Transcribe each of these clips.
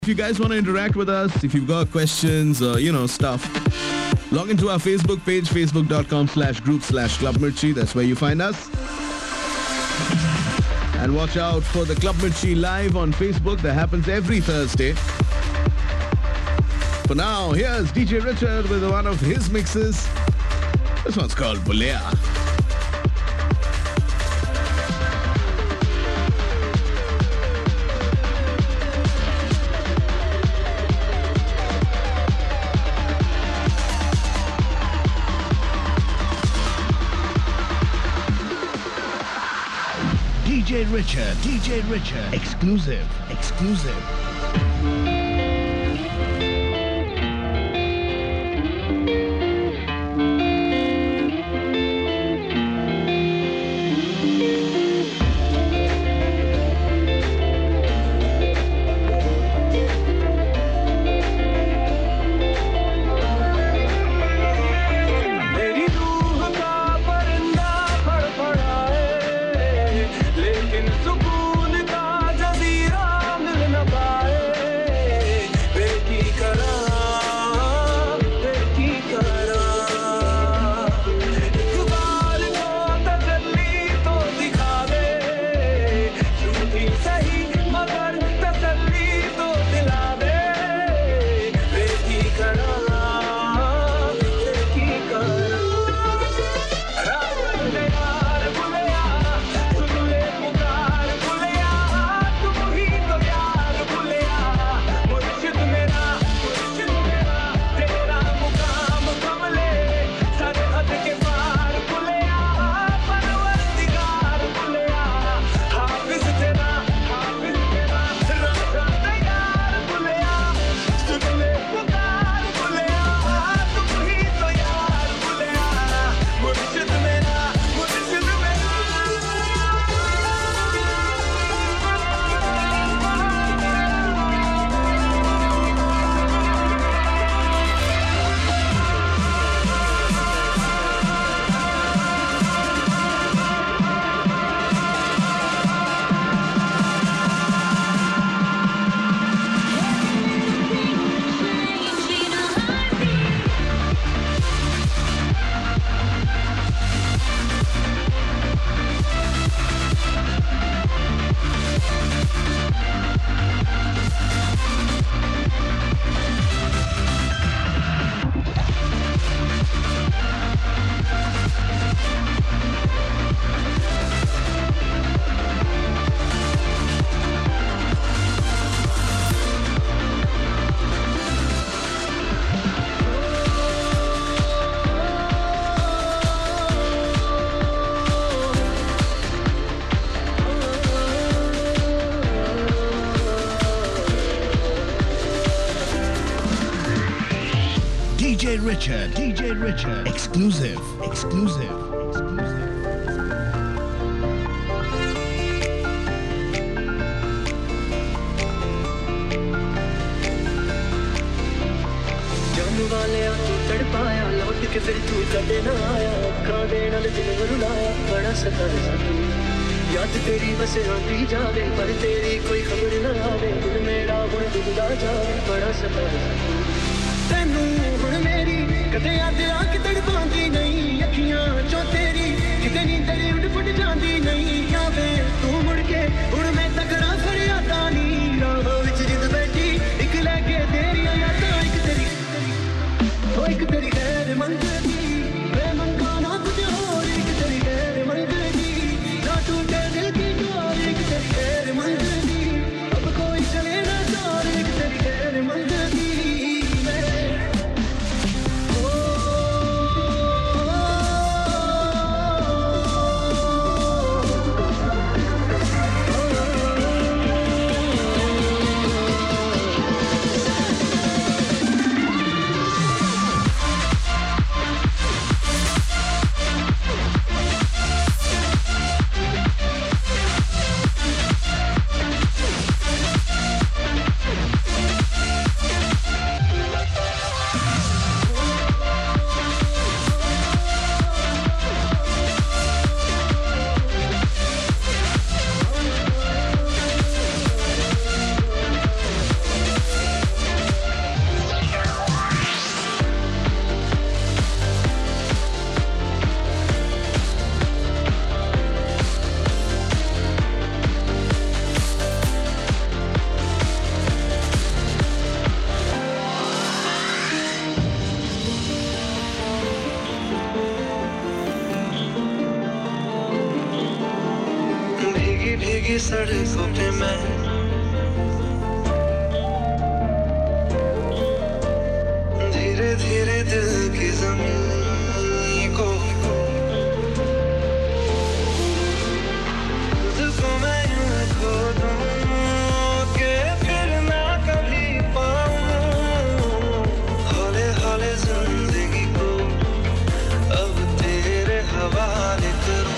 If you guys want to interact with us, if you've got questions, stuff, log into our Facebook page, facebook.com/group/Club Mirchi. That's where you find us. And watch out for the Club Mirchi live on Facebook. That happens every Thursday. For now, here's DJ Richard with one of his mixes. This one's called Bulea. DJ Richard, exclusive. DJ Richard, exclusive. जानू वाले तू तड़पाया लौट के फिर तू कदे ना आया अखा दे नाल दिल रुलाया बड़ा सताया तू याद तेरी बस आंदी जावे पर तेरी कोई खबर ना आवे दिल मेरा हुण डुबदा जावे बड़ा सताया तू तैनू हुण मेरी कदे याद आके तड़पांदी नहीं अखियां चो तेरी किते नींदर उड़ फुट जांदी नहीं आवे तू मुड़ के हुण मैं तकड़ा फरियादा नी राह विच जिंद बैठी इक लगे तेरी यादां एक तेरी गैर मंजरी मैं मंगाना कुछ और एक तेरी गैर मंजरी ना टूटे दिल की डोर एक तेरी गैर मंजरी अब कोई चले ना डोर एक तेरी गैर मंजरी सड़कों पे मैं धीरे धीरे दिल की ज़मीन को खुद को मैं यूं खो दूं कि फिर ना कभी पाऊं हौले हौले ज़िंदगी को अब तेरे हवाले करूं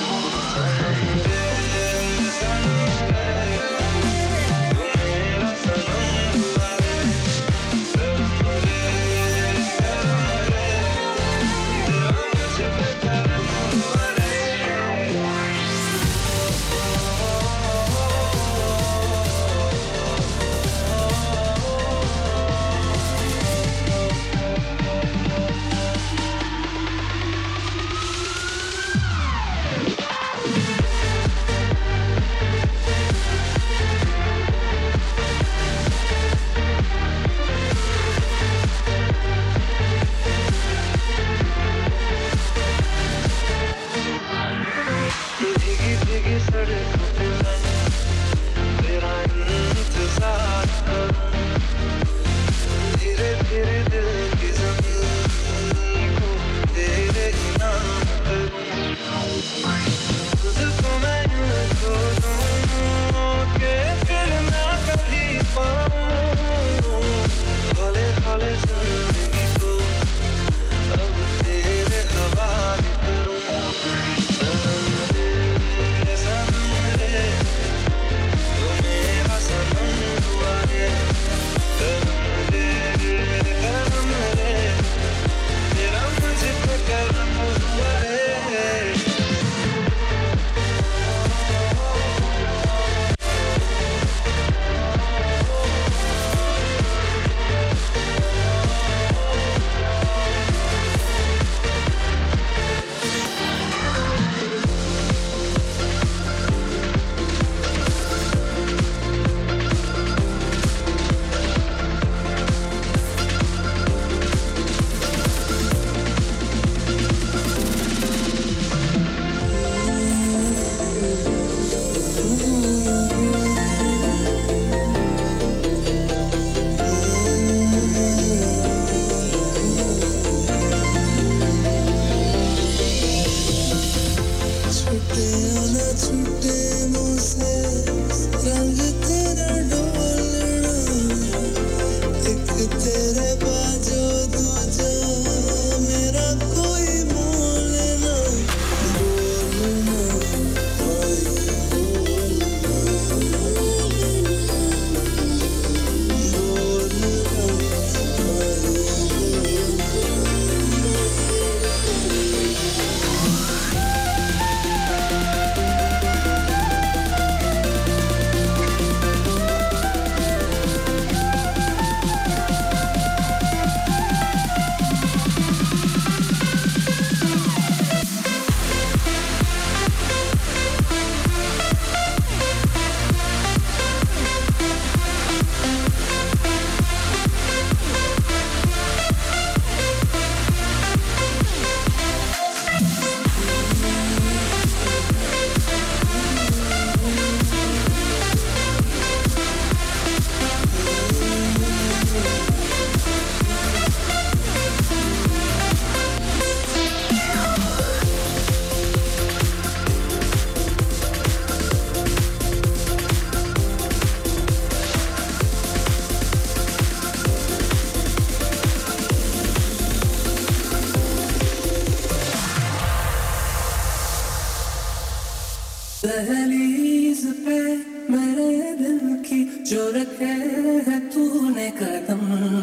दहलीज पे मेरे दिल की जो रखे है तूने कदम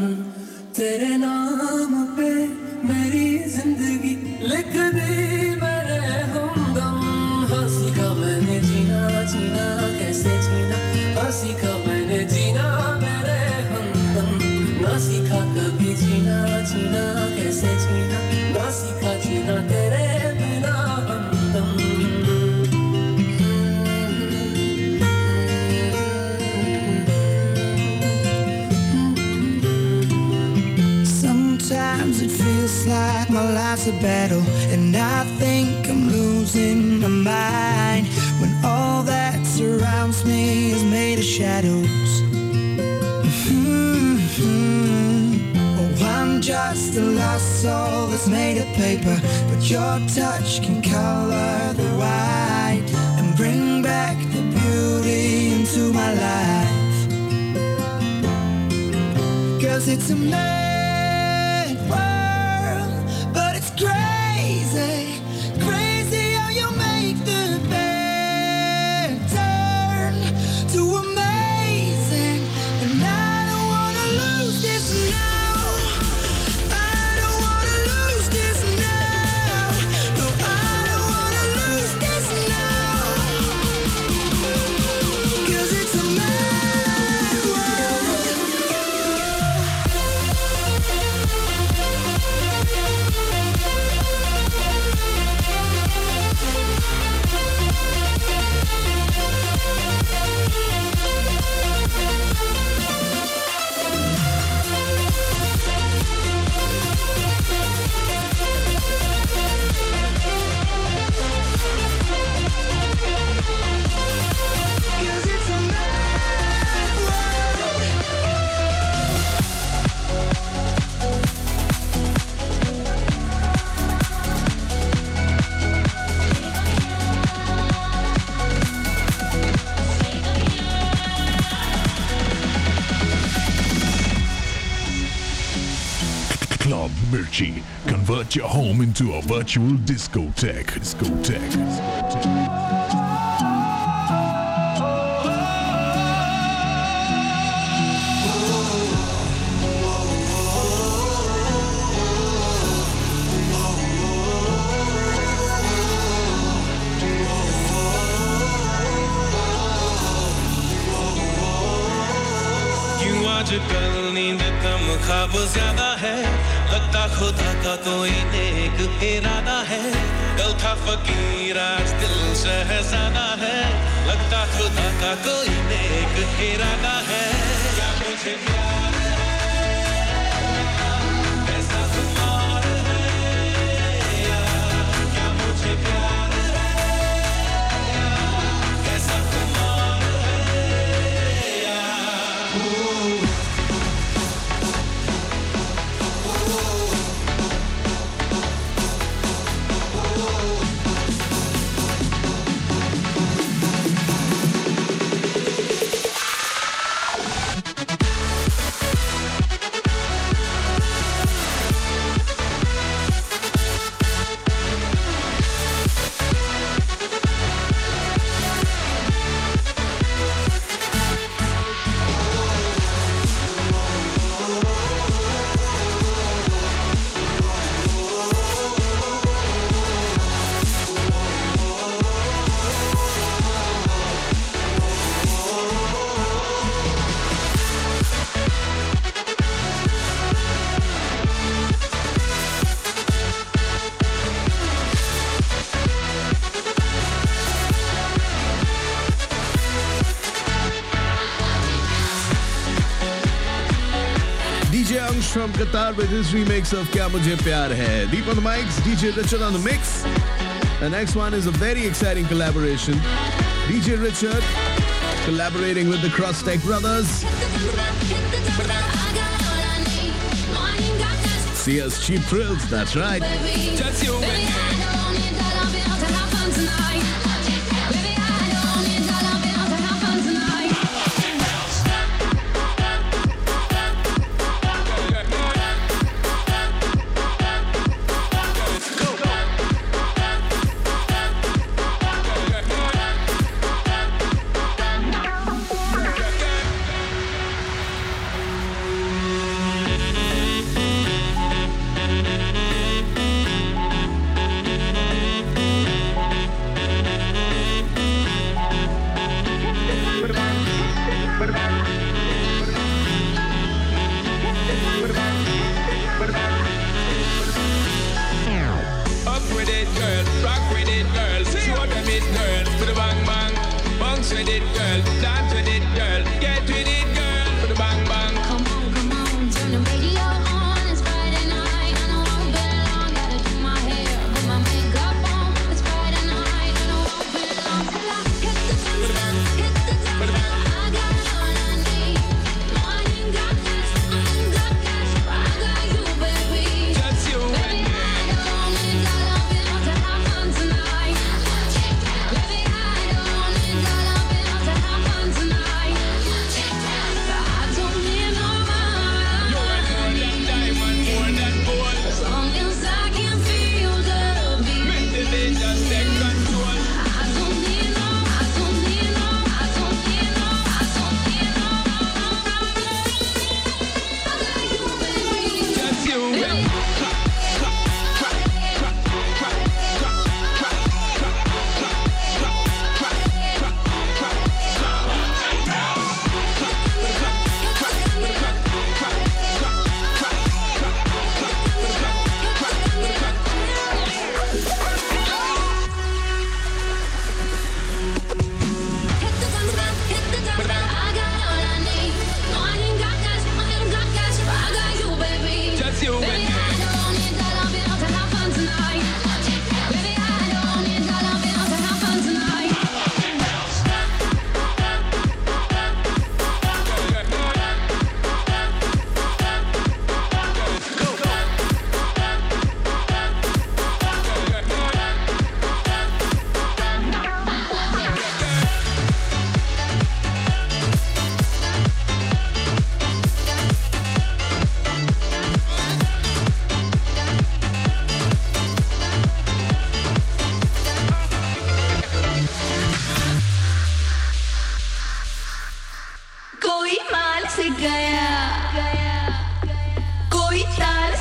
तेरे नाम पे मेरी जिंदगी लिख दी मेरे हमदम हाँ सीखा मैंने जीना जीना कैसे जीना हाँ सीखा मैंने जीना मेरे हमदम ना सीखा कभी जीना जीना कैसे जीना ना सीखा जीना तेरे बिना हमदम Sometimes it feels like my life's a battle, and I think I'm losing my mind. when all that surrounds me is made of shadows. Oh, I'm just a lost soul that's made of paper, but your touch can color the white and bring back the beauty into my life. 'Cause it's a mad world, but it's crazy, crazy how you make the bad turn to amazing. And I don't wanna lose this now. I don't wanna lose this now. No, I don't wanna lose this now. 'Cause it's a mad world. Club Mirchi. Convert your home into a virtual discotheque. क्यों आजकल नींद कम ख्वाब ज्यादा है, लगता खुदा का कोई नेक इरादा है। कल था फकीर आज दिल शहजादा है, लगता खुदा का कोई नेक इरादा है। क्या मुझे प्यार है, ऐसा खुमार है यार। क्या मुझे प्यार है, ऐसा खुमार है यार। DJ Ansh from Qatar with his remix of Kya Mujhe Pyar Hai. Deep on the mics, DJ Richard on the mix. The next one is a very exciting collaboration. DJ Richard collaborating with the Crosstech Brothers. CS Cheap Thrills, that's right. Just you and me.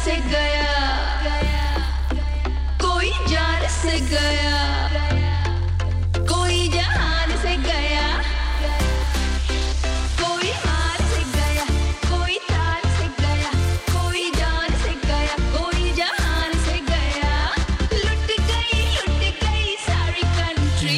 से गया, कोई जान से गया, कोई जहान से गया, कोई हार से गया, कोई तार से गया, कोई जान से गया, कोई जहान से गया, लुट गई सारी कंट्री।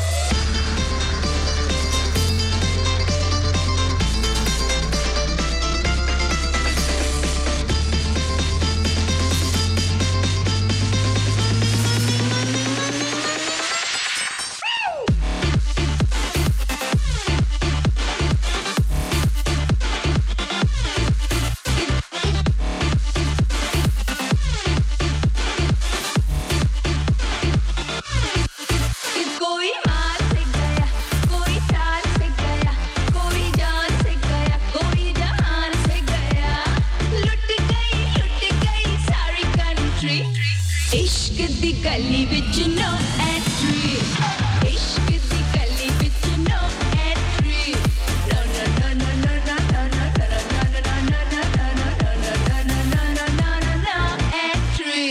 कोई मार से गया, कोई तार से गया, कोई जान से गया, कोई जहान से गया, लुट गई सारी कंट्री। इश्क दी गली विच नो एंट्री, इश्क दी गली विच no entry, no no no no no no no no entry.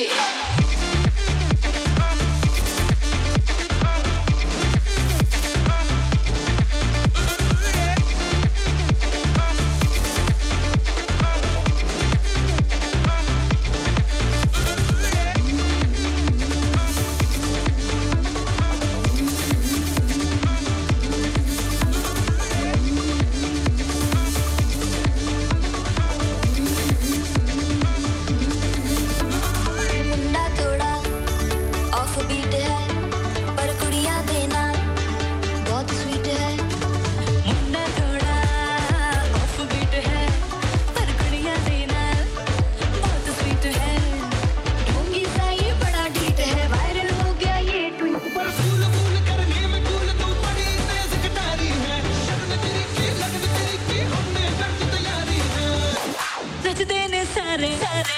मुंडा थोड़ा ऑफ बीट है पर कुड़ियां देना बहुत स्वीट है। मुन्ना थोड़ा ऑफ बीट है पर कुड़ियां देना बहुत स्वीट है। ढोंगी सा ये बड़ा डीट है, वायरल हो गया ये ट्वीट। पर फूल फूल करने में कूल तू बड़ी तेज कटारी है, शर्म तेरी की लगन तेरी की हमने कर दी तैयारी है। नचते ने सारे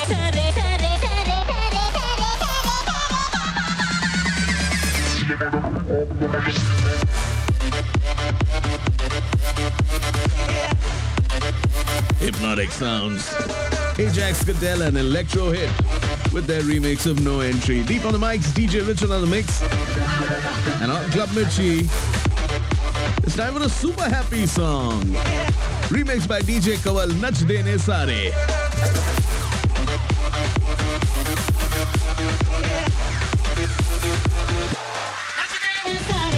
Hypnotic sounds. Ajax Goodell and Electro Hit with their remix of No Entry. Deep on the mics, DJ Richard on the mix. And on Club Mirchi, it's time for a super happy song. Remixed by DJ Kawal, Nach Dene Sare. सारे